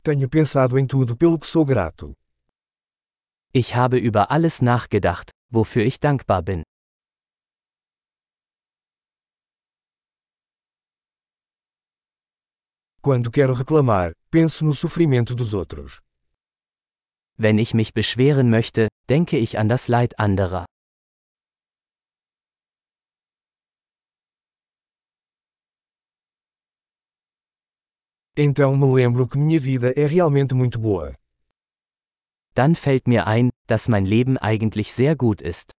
Tenho pensado em tudo pelo que sou grato. Ich habe über alles nachgedacht, wofür ich dankbar bin. Quando quero reclamar, penso no sofrimento dos outros. Wenn ich mich beschweren möchte, denke ich an das Leid anderer. Então me lembro que minha vida é realmente muito boa. Dann fällt mir ein, dass mein Leben eigentlich sehr gut ist.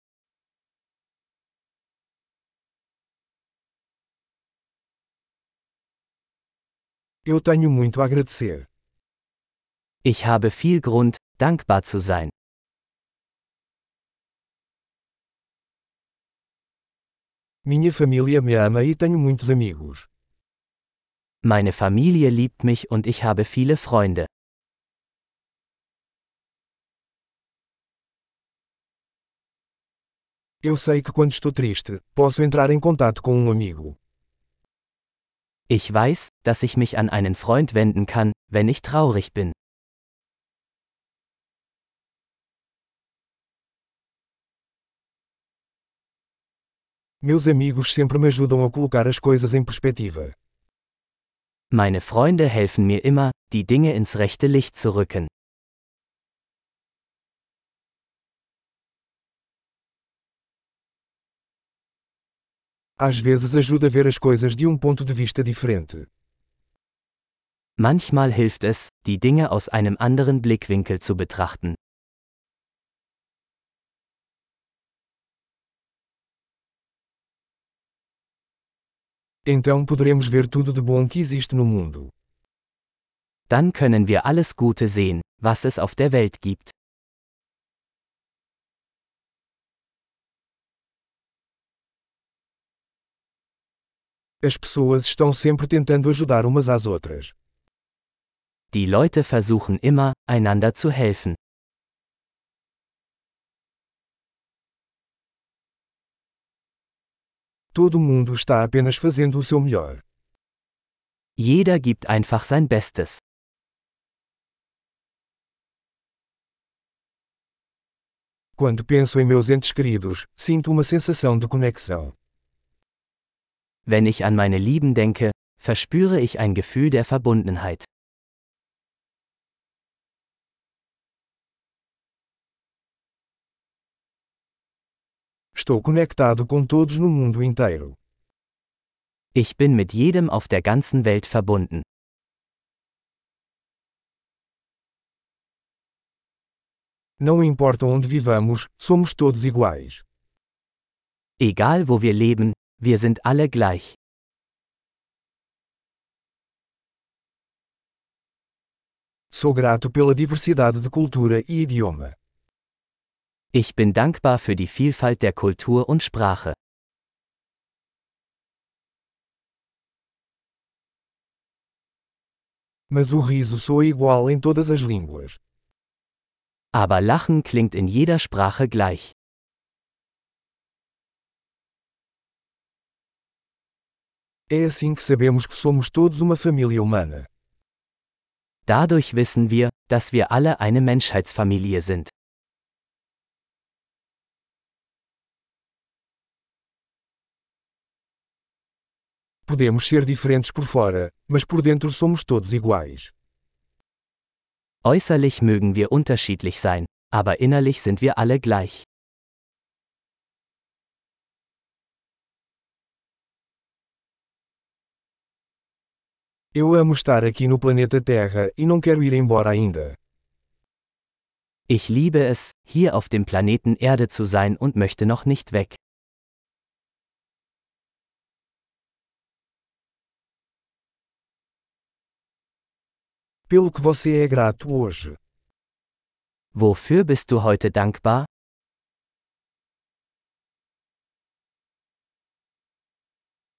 Eu tenho muito a agradecer. Ich habe viel Grund, dankbar zu sein. Minha família me ama e tenho muitos amigos. Meine Familie liebt mich und ich habe viele Freunde. Eu sei que quando estou triste, posso entrar em contato com um amigo. Ich weiß, dass ich mich an einen Freund wenden kann, wenn ich traurig bin. Meus amigos sempre me ajudam a colocar as coisas em perspectiva. Meine Freunde helfen mir immer, die Dinge ins rechte Licht zu rücken. Às vezes ajuda a ver as coisas de um ponto de vista diferente. Manchmal hilft es, die Dinge aus einem anderen Blickwinkel zu betrachten. Então poderemos ver tudo de bom que existe no mundo. Dann können wir alles Gute sehen, was es auf der Welt gibt. As pessoas estão sempre tentando ajudar umas às outras. Die Leute versuchen immer, einander zu helfen. Todo mundo está apenas fazendo o seu melhor. Jeder gibt einfach sein Bestes. Quando penso em meus entes queridos, sinto uma sensação de conexão. Wenn ich an meine Lieben denke, verspüre ich ein Gefühl der Verbundenheit. Estou conectado com todos no mundo inteiro. Ich bin mit jedem auf der ganzen Welt verbunden. Não importa onde vivamos, somos todos iguais. Egal wo wir leben, wir sind alle gleich. Sou grato pela diversidade de cultura e idioma. Ich bin dankbar für die Vielfalt der Kultur und Sprache. Mas o riso soa igual em todas as línguas. Aber Lachen klingt in jeder Sprache gleich. É assim que sabemos que somos todos uma família humana. Dadurch wissen wir, dass wir alle eine Menschheitsfamilie sind. Podemos ser diferentes por fora, mas por dentro somos todos iguais. Äußerlich mögen wir unterschiedlich sein, aber innerlich sind wir alle gleich. Eu amo estar aqui no planeta Terra e não quero ir embora ainda. Ich liebe es, hier auf dem Planeten Erde zu sein und möchte noch nicht weg. Pelo que você é grato hoje. Wofür bist du heute dankbar?